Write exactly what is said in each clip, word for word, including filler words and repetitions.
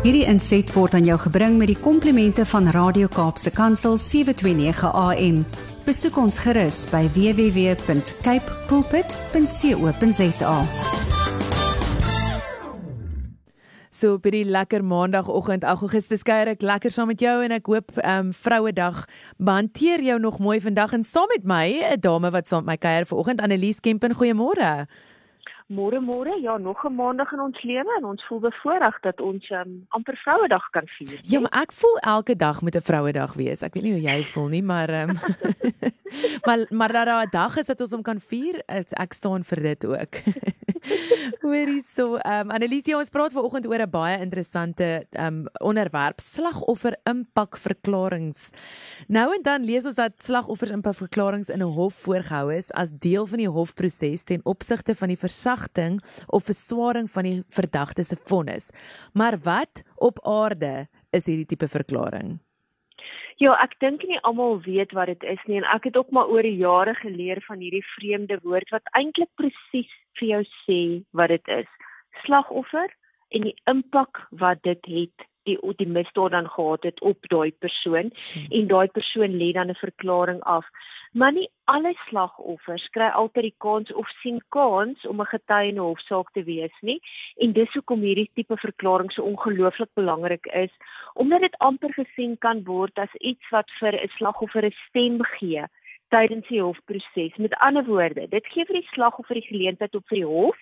Hierdie inset word aan jou gebring met die komplimente van Radio Kaapse Kansel sewe twee nege A M. Besoek ons gerus by w w w punt cape pulpit punt co punt za. So by die lekker maandagoggend, Augustus kuier ek lekker saam met jou en ek hoop um, Vrouedag behanteer jou nog mooi vandag en saam met my, 'n dame wat saam met my kuier vanoggend, Annelies Kempen, goeiemôre. Môre môre, ja, nog 'n maandag in ons lewe en ons voel bevoorreg dat ons um, amper Vrouedag kan vier. Ja, maar ek voel elke dag moet 'n Vrouedag wees. Ek weet nie hoe jy voel nie, maar um, maar maar dat daar 'n dag is dat ons hom kan vier, ek staan vir dit ook. Hoorie so, um, Annelies, ons praat vanoggend oor 'n baie interessante um, onderwerp, slagoffer impakverklarings. Nou en dan lees ons dat slagoffers impakverklarings in 'n hof voorgehou is as deel van die hofproses ten opsigte van die versagting of verswaring van die verdagte se vonnis. Maar wat op aarde is hierdie tipe verklaring? Ja, ek dink nie almal weet wat dit is nie en ek het ook maar oor die jare geleer van hierdie vreemde woord wat eintlik presies vir jou sê wat dit is. Slagoffer en die impak wat dit het, die die misdaad dan gehad het op daai persoon hmm. en daai persoon lê dan 'n verklaring af. Maar nie alle slagoffers kry altyd die kans of sien kans om 'n getuie in 'n hofsaak te wees nie. En dis hoekom hierdie tipe verklaring so ongelooflik belangrik is, omdat dit amper gesien kan word as iets wat vir 'n slagoffer 'n stem gee tydens die hofproses. Met ander woorde, dit gee vir die slagoffer die geleentheid op vir die hof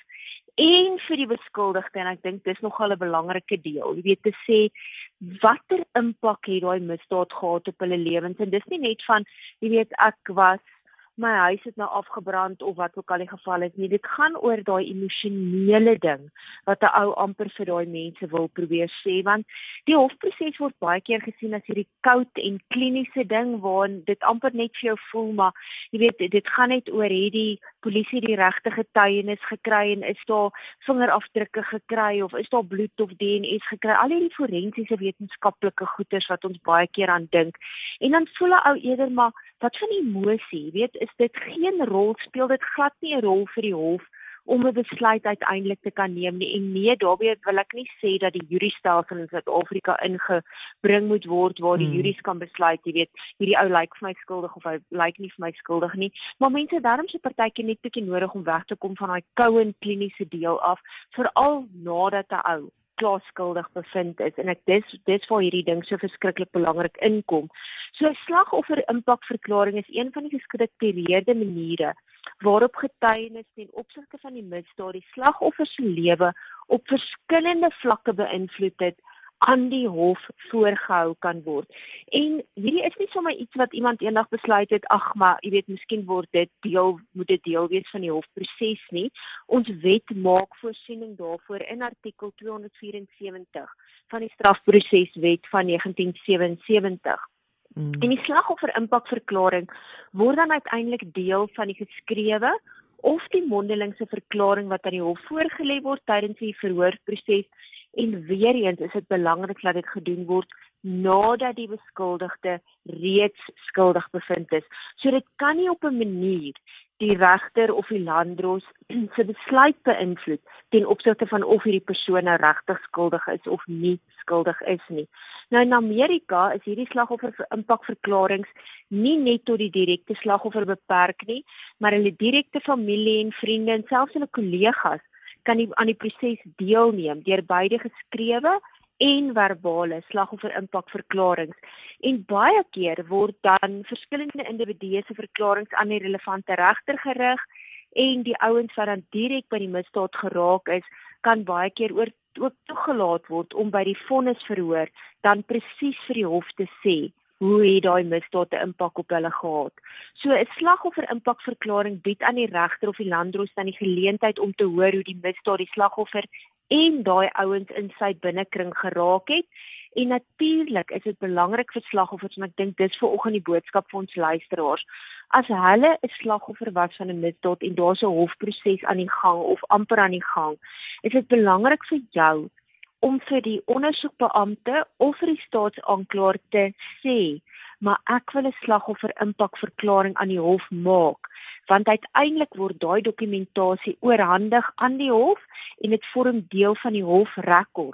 en vir die beskuldigde, en ek dink dis nogal 'n belangrike deel, jy weet, te sê watter impak het daai misdaad gehad op hulle lewens, en dis nie net van, jy weet, ek was, my huis het nou afgebrand, of wat ook al die geval is nie, dit gaan oor daai emosionele ding, wat 'n ou amper vir daai mense wil probeer sê, want die hofproses word baie keer gesien as hierdie koud en kliniese ding, waarin dit amper net vir jou voel, maar jy weet, dit gaan net oor, het die polisie die regte getuienis gekry, en is daar vingerafdrukke gekry, of is daar bloed of D N A's gekry, al hierdie forensiese wetenskaplike goeters wat ons baie keer aan dink, en dan voel 'n ou eerder maar, wat van emosie, weet, is dit geen rol, speel dit glad nie 'n rol vir die hof om 'n besluit uiteindelik te kan neem nie. En nee, daarbey wil ek nie sê dat die jury-stelsel in Suid-Afrika ingebring moet word waar die hmm. juries kan besluit, jy weet, hierdie ou lyk vir my skuldig of hy lyk nie vir my skuldig nie. Maar mense, daarom se partytjie net bietjie nodig om weg te kom van daai koue en kliniese deel af, veral nadat 'n ou klaar skuldig bevind is, en ek dis dis waar hierdie ding so verskriklik belangrik inkom. So 'n slagoffer impakverklaring is een van die gestruktureerde maniere waarop getuienis ten opsigte van die misdaad die slagoffer se lewe op verskillende vlakke beïnvloed het, aan die hof voorgehou kan word. En hierdie is nie sommer iets wat iemand eendag besluit het, ag maar, jy weet, miskien word dit deel, moet dit deel wees van die hofproses nie. Ons wet maak voorsiening daarvoor in artikel tweehonderdvysewentig van die strafproseswet van negentien sewensewentig. Mm. En die slagoffer impakverklaring word dan uiteindelik deel van die geskrewe of die mondelingse verklaring wat aan die hof voorgelê word tydens die verhoorproses. En weer eens is dit belangrik dat dit gedoen word nadat die beskuldigde reeds skuldig bevind is. So dit kan nie op 'n manier die regter of die landdros se besluit beïnvloed ten opsigte van of hierdie persoon nou regtig skuldig is of nie skuldig is nie. Nou in Amerika is hierdie slagoffer impakverklarings nie net tot die direkte slagoffer beperk nie, maar hulle direkte familie en vriende en selfs hulle kollegas kan die, aan die proses deelneem deur beide geskrewe en verbale slagoffer impakverklarings. En baie keer word dan verskillende individue se verklaringe aan die relevante regter gerig, en die ouens wat dan direk by die misdaad geraak is, kan baie keer oor, ook toegelaat word om by die vonnisverhoor dan presies vir die hof te sê hoe het daai misdaad 'n impak op hulle gehad. So 'n slagoffer impakverklaring bied aan die regter of die landdros dan die geleentheid om te hoor hoe die misdaad die slagoffer en daai ouens in sy binnekring geraak het. En natuurlik is dit belangrik vir slagoffers, en ek dink dis vanoggend die boodskap vir ons luisteraars. As hulle 'n slagoffer was van 'n misdaad en daar's 'n hofproses aan die gang of amper aan die gang, is dit belangrik vir jou om vir die ondersoekbeampte of vir die staatsaanklaer te sê, maar ek wil 'n slagoffer impakverklaring aan die hof maak, want uiteindelik word daai dokumentasie oorhandig aan die hof en dit vorm deel van die hofrekord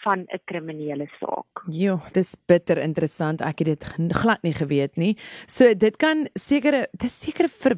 van 'n kriminele saak. Jo, dis bitter interessant. Ek het dit glad nie geweet nie. So dit kan sekere, dit is sekere ver,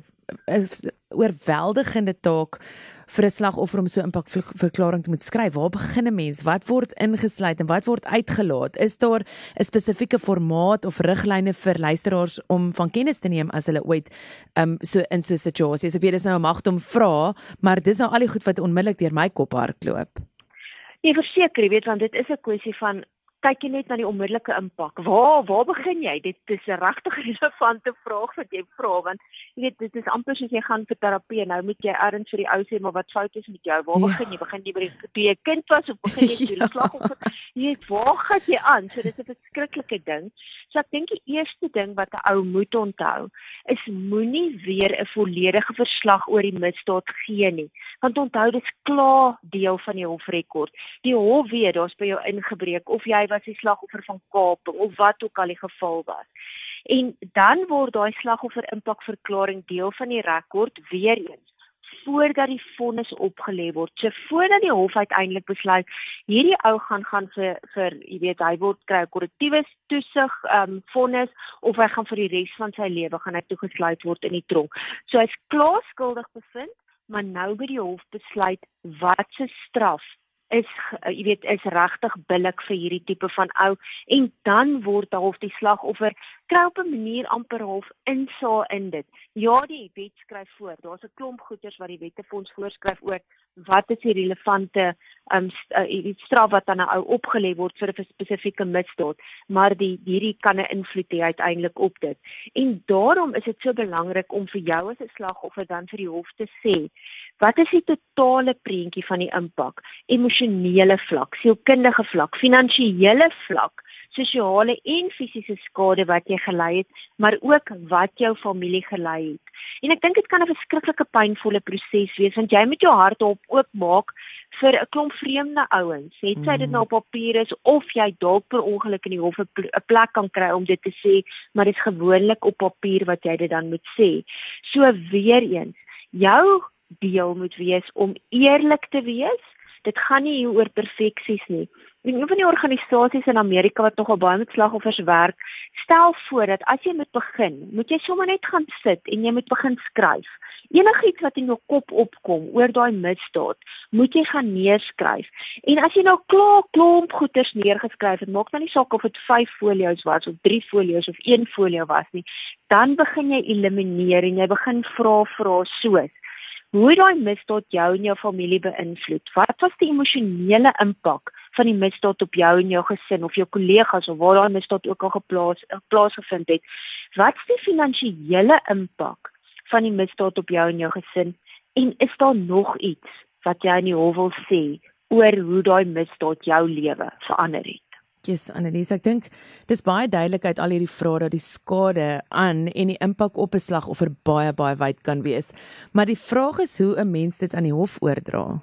oorweldigende taak vir 'n slagoffer om so 'n impakverklaring te moet skryf. Waar begin 'n mens? Wat word ingesluit en wat word uitgelaat? Is daar 'n spesifieke formaat of riglyne vir luisteraars om van kennis te neem as hulle ooit um, so in so 'n situasie is? Ek weet dis nou 'n magt om vra, maar dis nou al die goed wat onmiddellik deur my kop hardloop. Nee, verseker, jy weet, want dit is 'n kwessie van kyk jy net na die onmiddellike impak. Waar waar begin jy? Dit is 'n regtig relevante vraag wat jy vra, want jy weet dit is amper soos jy gaan vir terapie. Nou moet jy erns vir die ou sê maar wat fout is met jou. Waar ja. begin jy? Begin jy by die toe jy kind was of begin jy by die slagoffer? Jy weet waar gaan jy aan? So dis 'n verskriklike ding. So ek dink die eerste ding wat 'n ou moet onthou is moenie weer 'n volledige verslag oor die misdaad gee nie. Want onthou dis klaar deel van die hofrekord. Die hof weet daar's by jou ingebreek of jy was die slagoffer van kaping of wat ook al die geval was. En dan word daai slagoffer impakverklaring deel van die rekord weer eens voordat die vonnis opgelê word. So voordat die hof uiteindelik besluit hierdie ou gaan gaan vir vir jy weet hy word kry 'n korrektiewe toesig um vonnis of hy gaan vir die res van sy lewe gaan hy toegesluit word in die tronk. So hy's klaar skuldig bevind, maar nou by die hof besluit wat se straf is jy weet is regtig billik vir hierdie tipe van ou en dan word half die slagoffer kry op 'n manier amper half insaag in dit. Ja, die wet skryf voor. Daar's 'n klomp goeders wat die wette vir ons voorskryf oor wat is die relevante um, die straf wat aan 'n ou opgelê word vir 'n spesifieke misdaad, maar die hierdie kan 'n invloed hê uiteindelik op dit. En daarom is dit so belangrik om vir jou as 'n slagoffer dan vir die hof te sê, wat is die totale prentjie van die impak? Emosionele vlak, sielkundige vlak, finansiële vlak, sosiale en fisiese skade wat jy gelei het, maar ook wat jou familie gelei het. En ek dink dit kan 'n verskriklike pynvolle proses wees, want jy moet jou hart op oopmaak vir 'n klomp vreemde ouens. Het sy dit nou op papier is of jy dalk per ongeluk in die hof 'n plek kan kry om dit te sê, maar dit is gewoonlik op papier wat jy dit dan moet sê. So weer eens, jou deel moet wees om eerlik te wees. Dit gaan nie hier oor perfeksies nie. En een van die organisasies in Amerika wat nogal baie met slagoffers werk, stel voor dat as jy moet begin, moet jy sommer net gaan sit en jy moet begin skryf. Enigiets wat in jou kop opkom oor daai misdaad, moet jy gaan neerskryf. En as jy nou klaar klomp goeders neergeskryf het, maak nou nie saak of dit vyf folio's was of drie folio's of een folio was nie, dan begin jy elimineer en jy begin vra vra soos hoe daai misdaad jou en jou familie beïnvloed? Wat was die emosionele impak van die misdaad op jou en jou gesin of jou kollegas of waar daai misdaad ook al geplaas plaasgevind het? Wat is die finansiële impak van die misdaad op jou en jou gesin? En is daar nog iets wat jy in die hof wil sê oor hoe daai misdaad jou lewe verander het? Yes, Annelies, ek dink dis baie duidelik uit al hierdie vrae dat die skade aan en die impak op 'n slagoffer baie baie wyd kan wees. Maar die vraag is hoe 'n mens dit aan die hof oordra.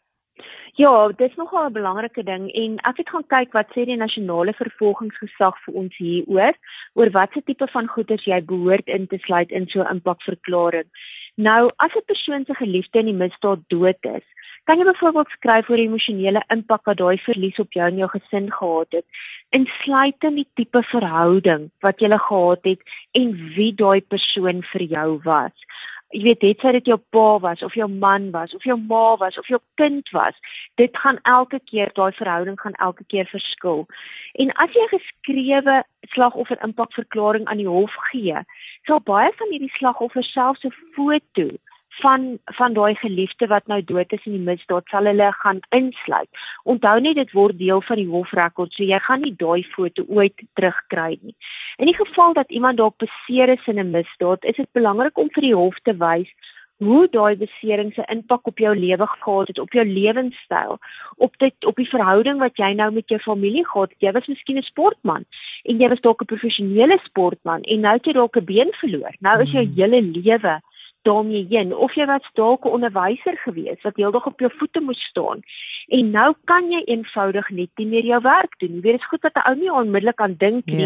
Ja, dit is nogal 'n belangrike ding en ek het gaan kyk wat sê die nasionale vervolgingsgesag vir ons hieroor, oor watse tipe van goederes jy behoort in te sluit in so 'n impakverklaring. Nou, as 'n persoon se geliefde in die misdaad dood is, kan jy byvoorbeeld skryf oor die emosionele impak wat daai verlies op jou en jou gesin gehad het, insluitend die tipe verhouding wat jy gehad het en wie daai persoon vir jou was. Jy weet, het sy dit jou pa was, of jou man was, of jou ma was, of jou kind was, dit gaan elke keer, daai verhouding gaan elke keer verskil. En as jy 'n geskrewe slagoffer impakverklaring aan die hof gee, sal baie van hierdie slagoffers selfs 'n foto van van daai geliefde wat nou dood is in die misdaad sal hulle gaan insluit. Onthou net dit word deel van die hofrekord, so jy gaan nie daai foto ooit terugkry nie. In die geval dat iemand dalk beseer is in 'n misdaad, is dit belangrik om vir die hof te wys hoe daai besering se impak op jou lewe gehad het, op jou lewenstyl, op dit op die verhouding wat jy nou met jou familie gehad het. Jy was miskien 'n sportman en jy was dalk 'n professionele sportman en nou het jy dalk 'n been verloor. Nou is jou hele lewe daarmee heen, of jy was dalk 'n onderwyser gewees wat heeldag op jou voete moes staan en nou kan jy eenvoudig net nie meer jou werk doen. Jy weet, dit is goed dat 'n ou nie onmiddellik aan dink nie, ja.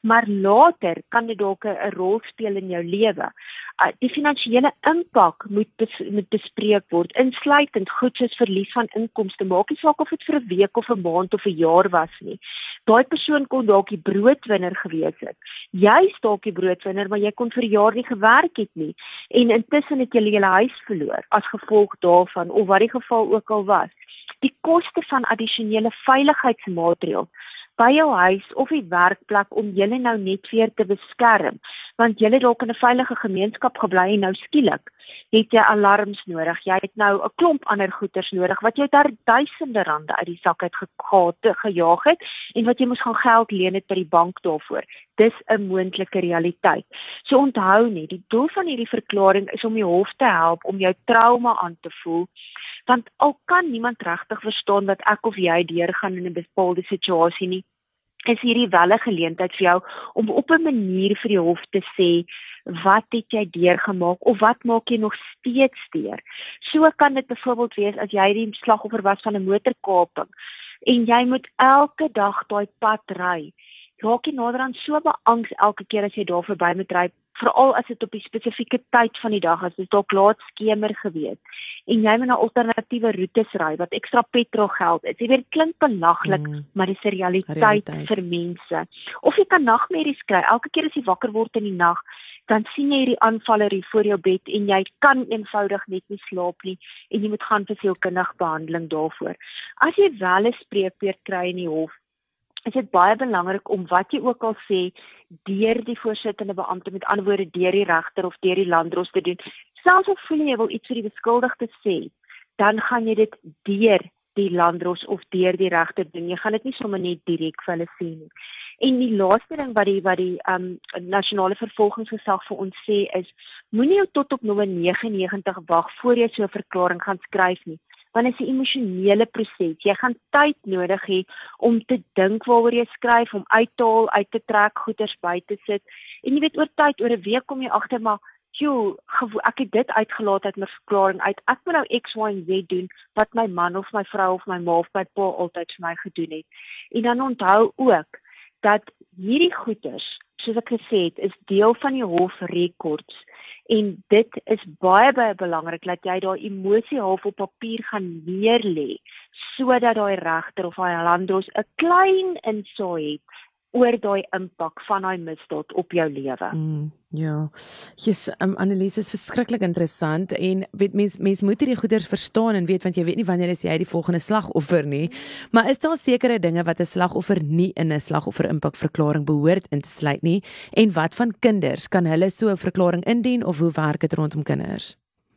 maar later kan dit dalk 'n rol speel in jou lewe. Uh, die finansiële impak moet bes, moet bespreek word, insluitend goed soos verlies van inkomste, maak nie saak of dit vir 'n week of 'n maand of 'n jaar was nie. Daai persoon kon dalk die broodwinner gewees het. Jy is dalk die broodwinner, maar jy kon vir jaar nie gewerk het nie. En intussen het jy jou huis verloor as gevolg daarvan, of wat die geval ook al was. Die koste van addisionele veiligheidsmaatreëls by jou huis of die werkplek om julle nou net weer te beskerm, want julle dalk in 'n veilige gemeenskap gebly en nou skielik het jy alarms nodig. Jy het nou 'n klomp ander goeders nodig wat jou daar duisende rande uit die sak uit ge- gejaag het en wat jy moes gaan geld leen het by die bank daarvoor. Dis 'n moontlike realiteit. So onthou net, die doel van hierdie verklaring is om die hof te help om jou trauma aan te voel, want al kan niemand regtig verstaan wat ek of jy deurgaan in 'n bepaalde situasie nie, is hierdie wel 'n geleentheid vir jou om op 'n manier vir die hof te sê, wat het jy deurgemaak of wat maak jy nog steeds deur? So kan dit byvoorbeeld wees as jy die slagoffer was van 'n motorkaping en jy moet elke dag daai pad ry. Raak jy naderhand so beangs elke keer as jy daar verby moet ry, veral as dit op die spesifieke tyd van die dag is, dis dalk laat skemer gewees en jy moet na alternatiewe roetes ry wat ekstra petrol geld is. Jy weet, dit klink belaglik, mm. maar dis 'n realiteit, realiteit vir mense. Of jy kan nagmerries kry elke keer as jy wakker word in die nag, dan sien jy hierdie aanvaller hier voor jou bed en jy kan eenvoudig net nie slaap nie en jy moet gaan vir sielkundige behandeling daarvoor. As jy wel 'n spreekbeurt kry in die hof, is dit baie belangrik om wat jy ook al sê deur die voorsittende beampte, met ander woorde deur die regter of deur die landdros te doen. Selfs al voel jy wil iets vir die beskuldigde sê, dan gaan jy dit deur die landdros of deur die regter doen. Jy gaan dit nie sommer net direk vir hulle sê nie. En die laaste ding wat die wat die um, nasionale vervolgingsgesag vir ons sê is, moenie jou tot op nommer negenennegentig wag voor jy so 'n verklaring gaan skryf nie. Want dit is 'n emosionele proses. Jy gaan tyd nodig hê om te dink waaroor jy skryf, om uit te haal, uit te trek, goeders by te sit. En jy weet, oor tyd, oor 'n week kom jy agter, maar joh, ek het dit uitgelaat uit my verklaring uit. Ek moet nou X, Y en Z doen wat my man of my vrou of my ma of my pa altyd vir my gedoen het. En dan onthou ook dat hierdie goeders, soos ek gesê het, is deel van die hofrekords. En dit is baie baie belangrik dat jy daai emosie half op papier gaan neerlê, sodat daai regter of daai landdros 'n klein insaag het oor daai impak van daai misdaad op jou lewe. Mm, ja, yes, um, Annelies, is verskriklik interessant en weet mens, mens moet hierdie goeders verstaan en weet, want jy weet nie wanneer is jy die volgende slagoffer nie, maar is daar sekere dinge wat 'n slagoffer nie in 'n slagoffer impakverklaring behoort in te sluit nie, en wat van kinders, kan hulle so 'n verklaring indien of hoe werk dit rondom kinders?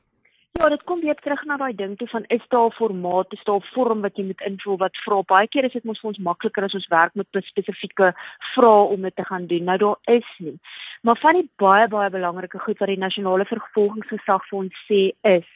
Ja, dit kom weer terug na daai ding toe van, is daar 'n formaat, is daar 'n vorm wat jy moet invul wat vra. Baie keer is dit mos vir ons makliker as ons werk met spesifieke vrae om dit te gaan doen. Nou daar is nie. Maar van die baie baie belangrike goed wat die nasionale vervolgingsgesag vir ons sê is,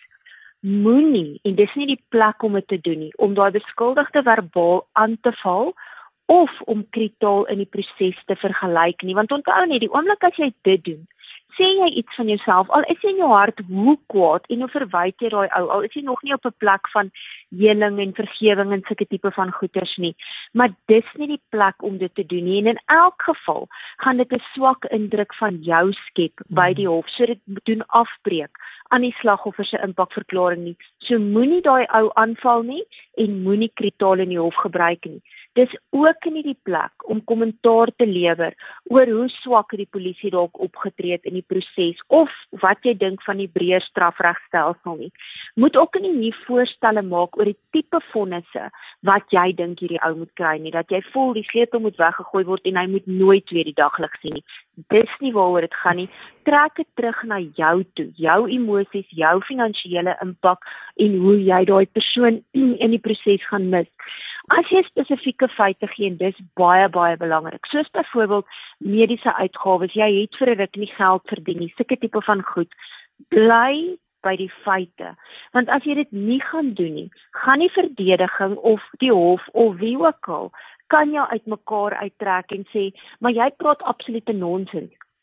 moenie, en dis nie die plek om dit te doen nie, om daai beskuldigde verbaal aan te val of om kritaal in die proses te vergelyk nie. Want onthou net, die oomblik as jy dit doen, sê jy iets van jouself, al is jy in jou hart hoe kwaad en hoe verwyd jy daai ou, al is jy nog nie op 'n plek van heling en vergewing en sulke tipe van goeders nie, maar dis nie die plek om dit te doen nie, en in elk geval gaan dit 'n swak indruk van jou skep by die hof, so dit doen afbreek aan die slagoffer se impakverklaring nie. So moenie daai ou aanval nie en moenie kritaal in die hof gebruik nie. Dis ook nie die plek om kommentaar te lewer oor hoe swak die polisie dalk opgetree het in die proses of wat jy dink van die breër strafregstelsel nie. Moet ook nie nie voorstelle maak oor die tipe vonnisse wat jy dink hierdie ou moet kry nie, dat jy voel die sleutel moet weggegooi word en hy moet nooit weer die daglig sien nie. Dis nie waaroor dit gaan nie. Trek dit terug na jou toe, jou emosies, jou finansiële impak en hoe jy daai persoon in die proses gaan mis. As jy spesifieke feite gee, en dis baie, baie belangrik, soos byvoorbeeld mediese uitgawes, jy het vir 'n ruk nie geld verdien nie, sulke tipe van goed, bly by die feite. Want as jy dit nie gaan doen nie, gaan die verdediging of die hof of wie ook al, kan jou uitmekaar uittrek en sê, maar jy praat absolute nonsens.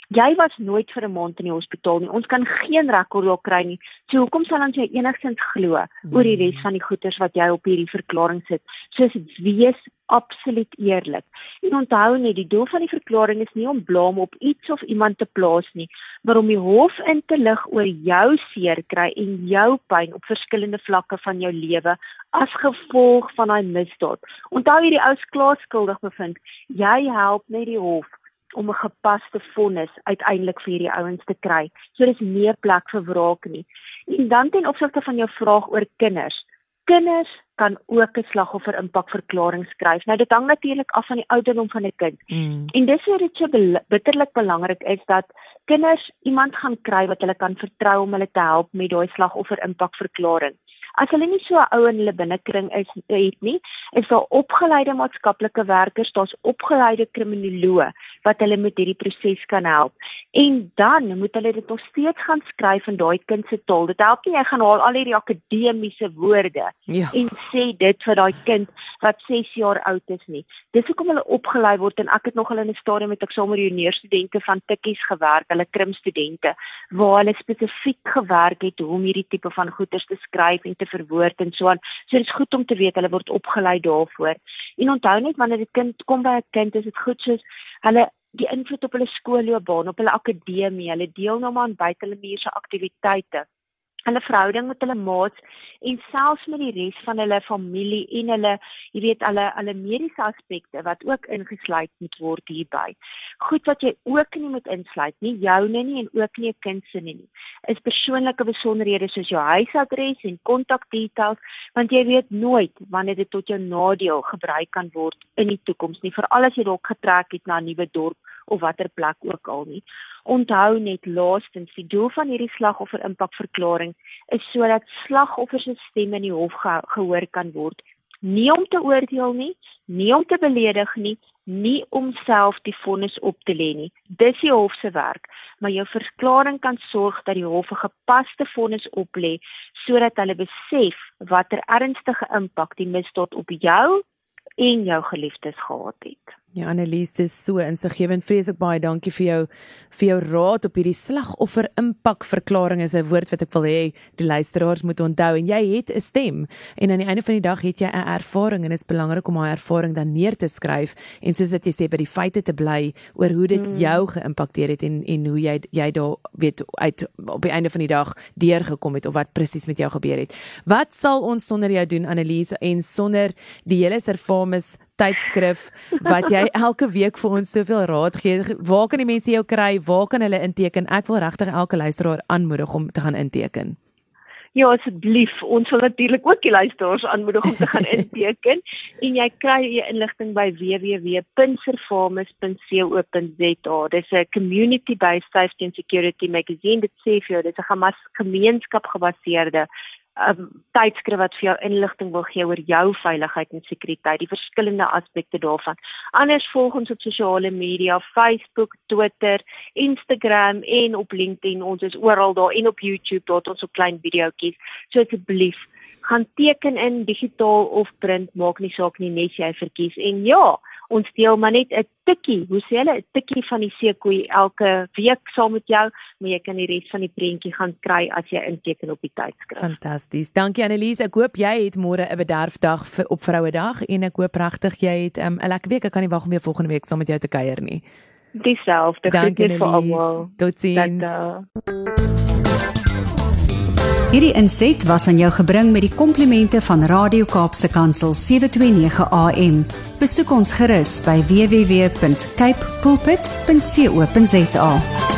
Jy was nooit vir 'n maand in die hospitaal nie. Ons kan geen rekord daar kry nie. So hoekom sal ons jou enigstens glo mm. oor die res van die goeders wat jy op hierdie verklaring sit? So wees absoluut eerlik. En onthou net, die doel van die verklaring is nie om blame op iets of iemand te plaas nie, maar om die hof in te lig oor jou seer kry en jou pyn op verskillende vlakke van jou lewe as gevolg van daai misdaad. Onthou hierdie ou is klaar skuldig bevind. Jy help net die hof om 'n gepaste vonnis uiteindelik vir hierdie ouens te kry. So dis nie 'n plek vir wraak nie. En dan ten opsigte van jou vraag oor kinders. Kinders kan ook 'n slagoffer impakverklaring skryf. Nou dit hang natuurlik af van die ouderdom van 'n kind. Mm. En dis waar dit so bitterlik belangrik is dat kinders iemand gaan kry wat hulle kan vertrou om hulle te help met daai slagoffer impakverklaring. As hulle nie so ou in hulle binnekring is het nie, is daar opgeleide maatskaplike werkers, daar's opgeleide kriminoloë wat hulle met hierdie proses kan help. En dan moet hulle dit nog steeds gaan skryf in daai kind se taal. Dit help nie jy gaan haal al hierdie akademiese woorde ja. en sê dit vir daai kind wat ses jaar oud is nie. Dis hoekom hulle opgelei word en ek het nog al in 'n stadium met ek saam met die juniorstudente van Tikkies gewerk, hulle krimstudente, waar hulle spesifiek gewerk het hoe om hierdie tipe van goeters te skryf en te verwoord en so aan. So dit is goed om te weet hulle word opgelei daarvoor. En onthou net wanneer dit kind kom by 'n kind is dit goed soos hulle die invloed op hulle skoolloopbaan, op hulle akademie, hulle deelname aan buitemuurse aktiwiteite, hulle verhouding met hulle maats en selfs met die res van hulle familie en hulle, jy weet, hulle hulle mediese aspekte wat ook ingesluit moet word hierby. Goed wat jy ook nie moet insluit nie, joune nie en ook nie 'n kind se nie, is persoonlike besonderhede soos jou huisadres en kontakdetails, want jy weet nooit wanneer dit tot jou nadeel gebruik kan word in die toekoms nie, veral as jy dalk getrek het na 'n nuwe dorp of watter plek ook al nie. Onthou net laastens, die doel van hierdie slagoffer impakverklaring is sodat slagoffers se stem in die hof ge gehoor kan word. Nie om te oordeel nie, nie om te beledig nie, nie om self die vonnis op te lê nie. Dis die hof se werk, maar jou verklaring kan sorg dat die hof 'n gepaste vonnis oplê sodat hulle besef watter ernstige impak die misdaad op jou en jou geliefdes gehad het. Ja, Annelies, dit is so insiggewend. Vreeslik baie dankie vir jou vir jou raad op hierdie slagoffer impakverklaring. Is 'n woord wat ek wil hê die luisteraars moet onthou. En jy het 'n stem en aan die einde van die dag het jy 'n ervaring en dit is belangrik om daai ervaring dan neer te skryf en soos wat jy sê by die feite te bly oor hoe dit mm. jou geïmpakteer het en en hoe jy jy daar weet uit op die einde van die dag deurgekom het of wat presies met jou gebeur het. Wat sal ons sonder jou doen, Annelies, en sonder die hele Servamus tydskrif wat jy elke week vir ons soveel raad gee? Waar kan die mense jou kry? Waar kan hulle inteken? Ek wil regtig elke luisteraar aanmoedig om te gaan inteken. Ja, asseblief. Ons wil natuurlik ook die luisteraars aanmoedig om te gaan inteken. En jy kry jou inligting by w w w punt servamus punt co punt z a. Dis 'n community-based safety and security magazine. Dit sê vir jou, dis 'n gemeenskapgebaseerde Um, tydskrif wat vir jou inligting wil gee oor jou veiligheid en sekuriteit, die verskillende aspekte daarvan. Anders volg ons op sosiale media, Facebook, Twitter, Instagram en op LinkedIn. Ons is oral daar en op YouTube, daar het ons so klein videoetjies. So asseblief, gaan teken in digitaal of print, maak nie saak nie, net jy verkies. En ja, ons deel maar net 'n tikkie, hoe sê hulle, 'n tikkie van die seekoei elke week saam met jou, maar jy kan die res van die prentjie gaan kry as jy inteken op die tydskrif. Fantasties. Dankie Annelies. Ek hoop jy het môre 'n bederfdag vir op Vrouedag en ek hoop regtig jy het 'n um, lekker week. Ek kan nie wag om weer volgende week saam met jou te kuier nie. Dieselfde. Dankie vir almal. Totsiens. Hierdie inset was aan jou gebring met die komplimente van Radio Kaapse Kansel sewe twee nege A M. Besoek ons gerus by w w w punt cape pulpit punt co punt z a.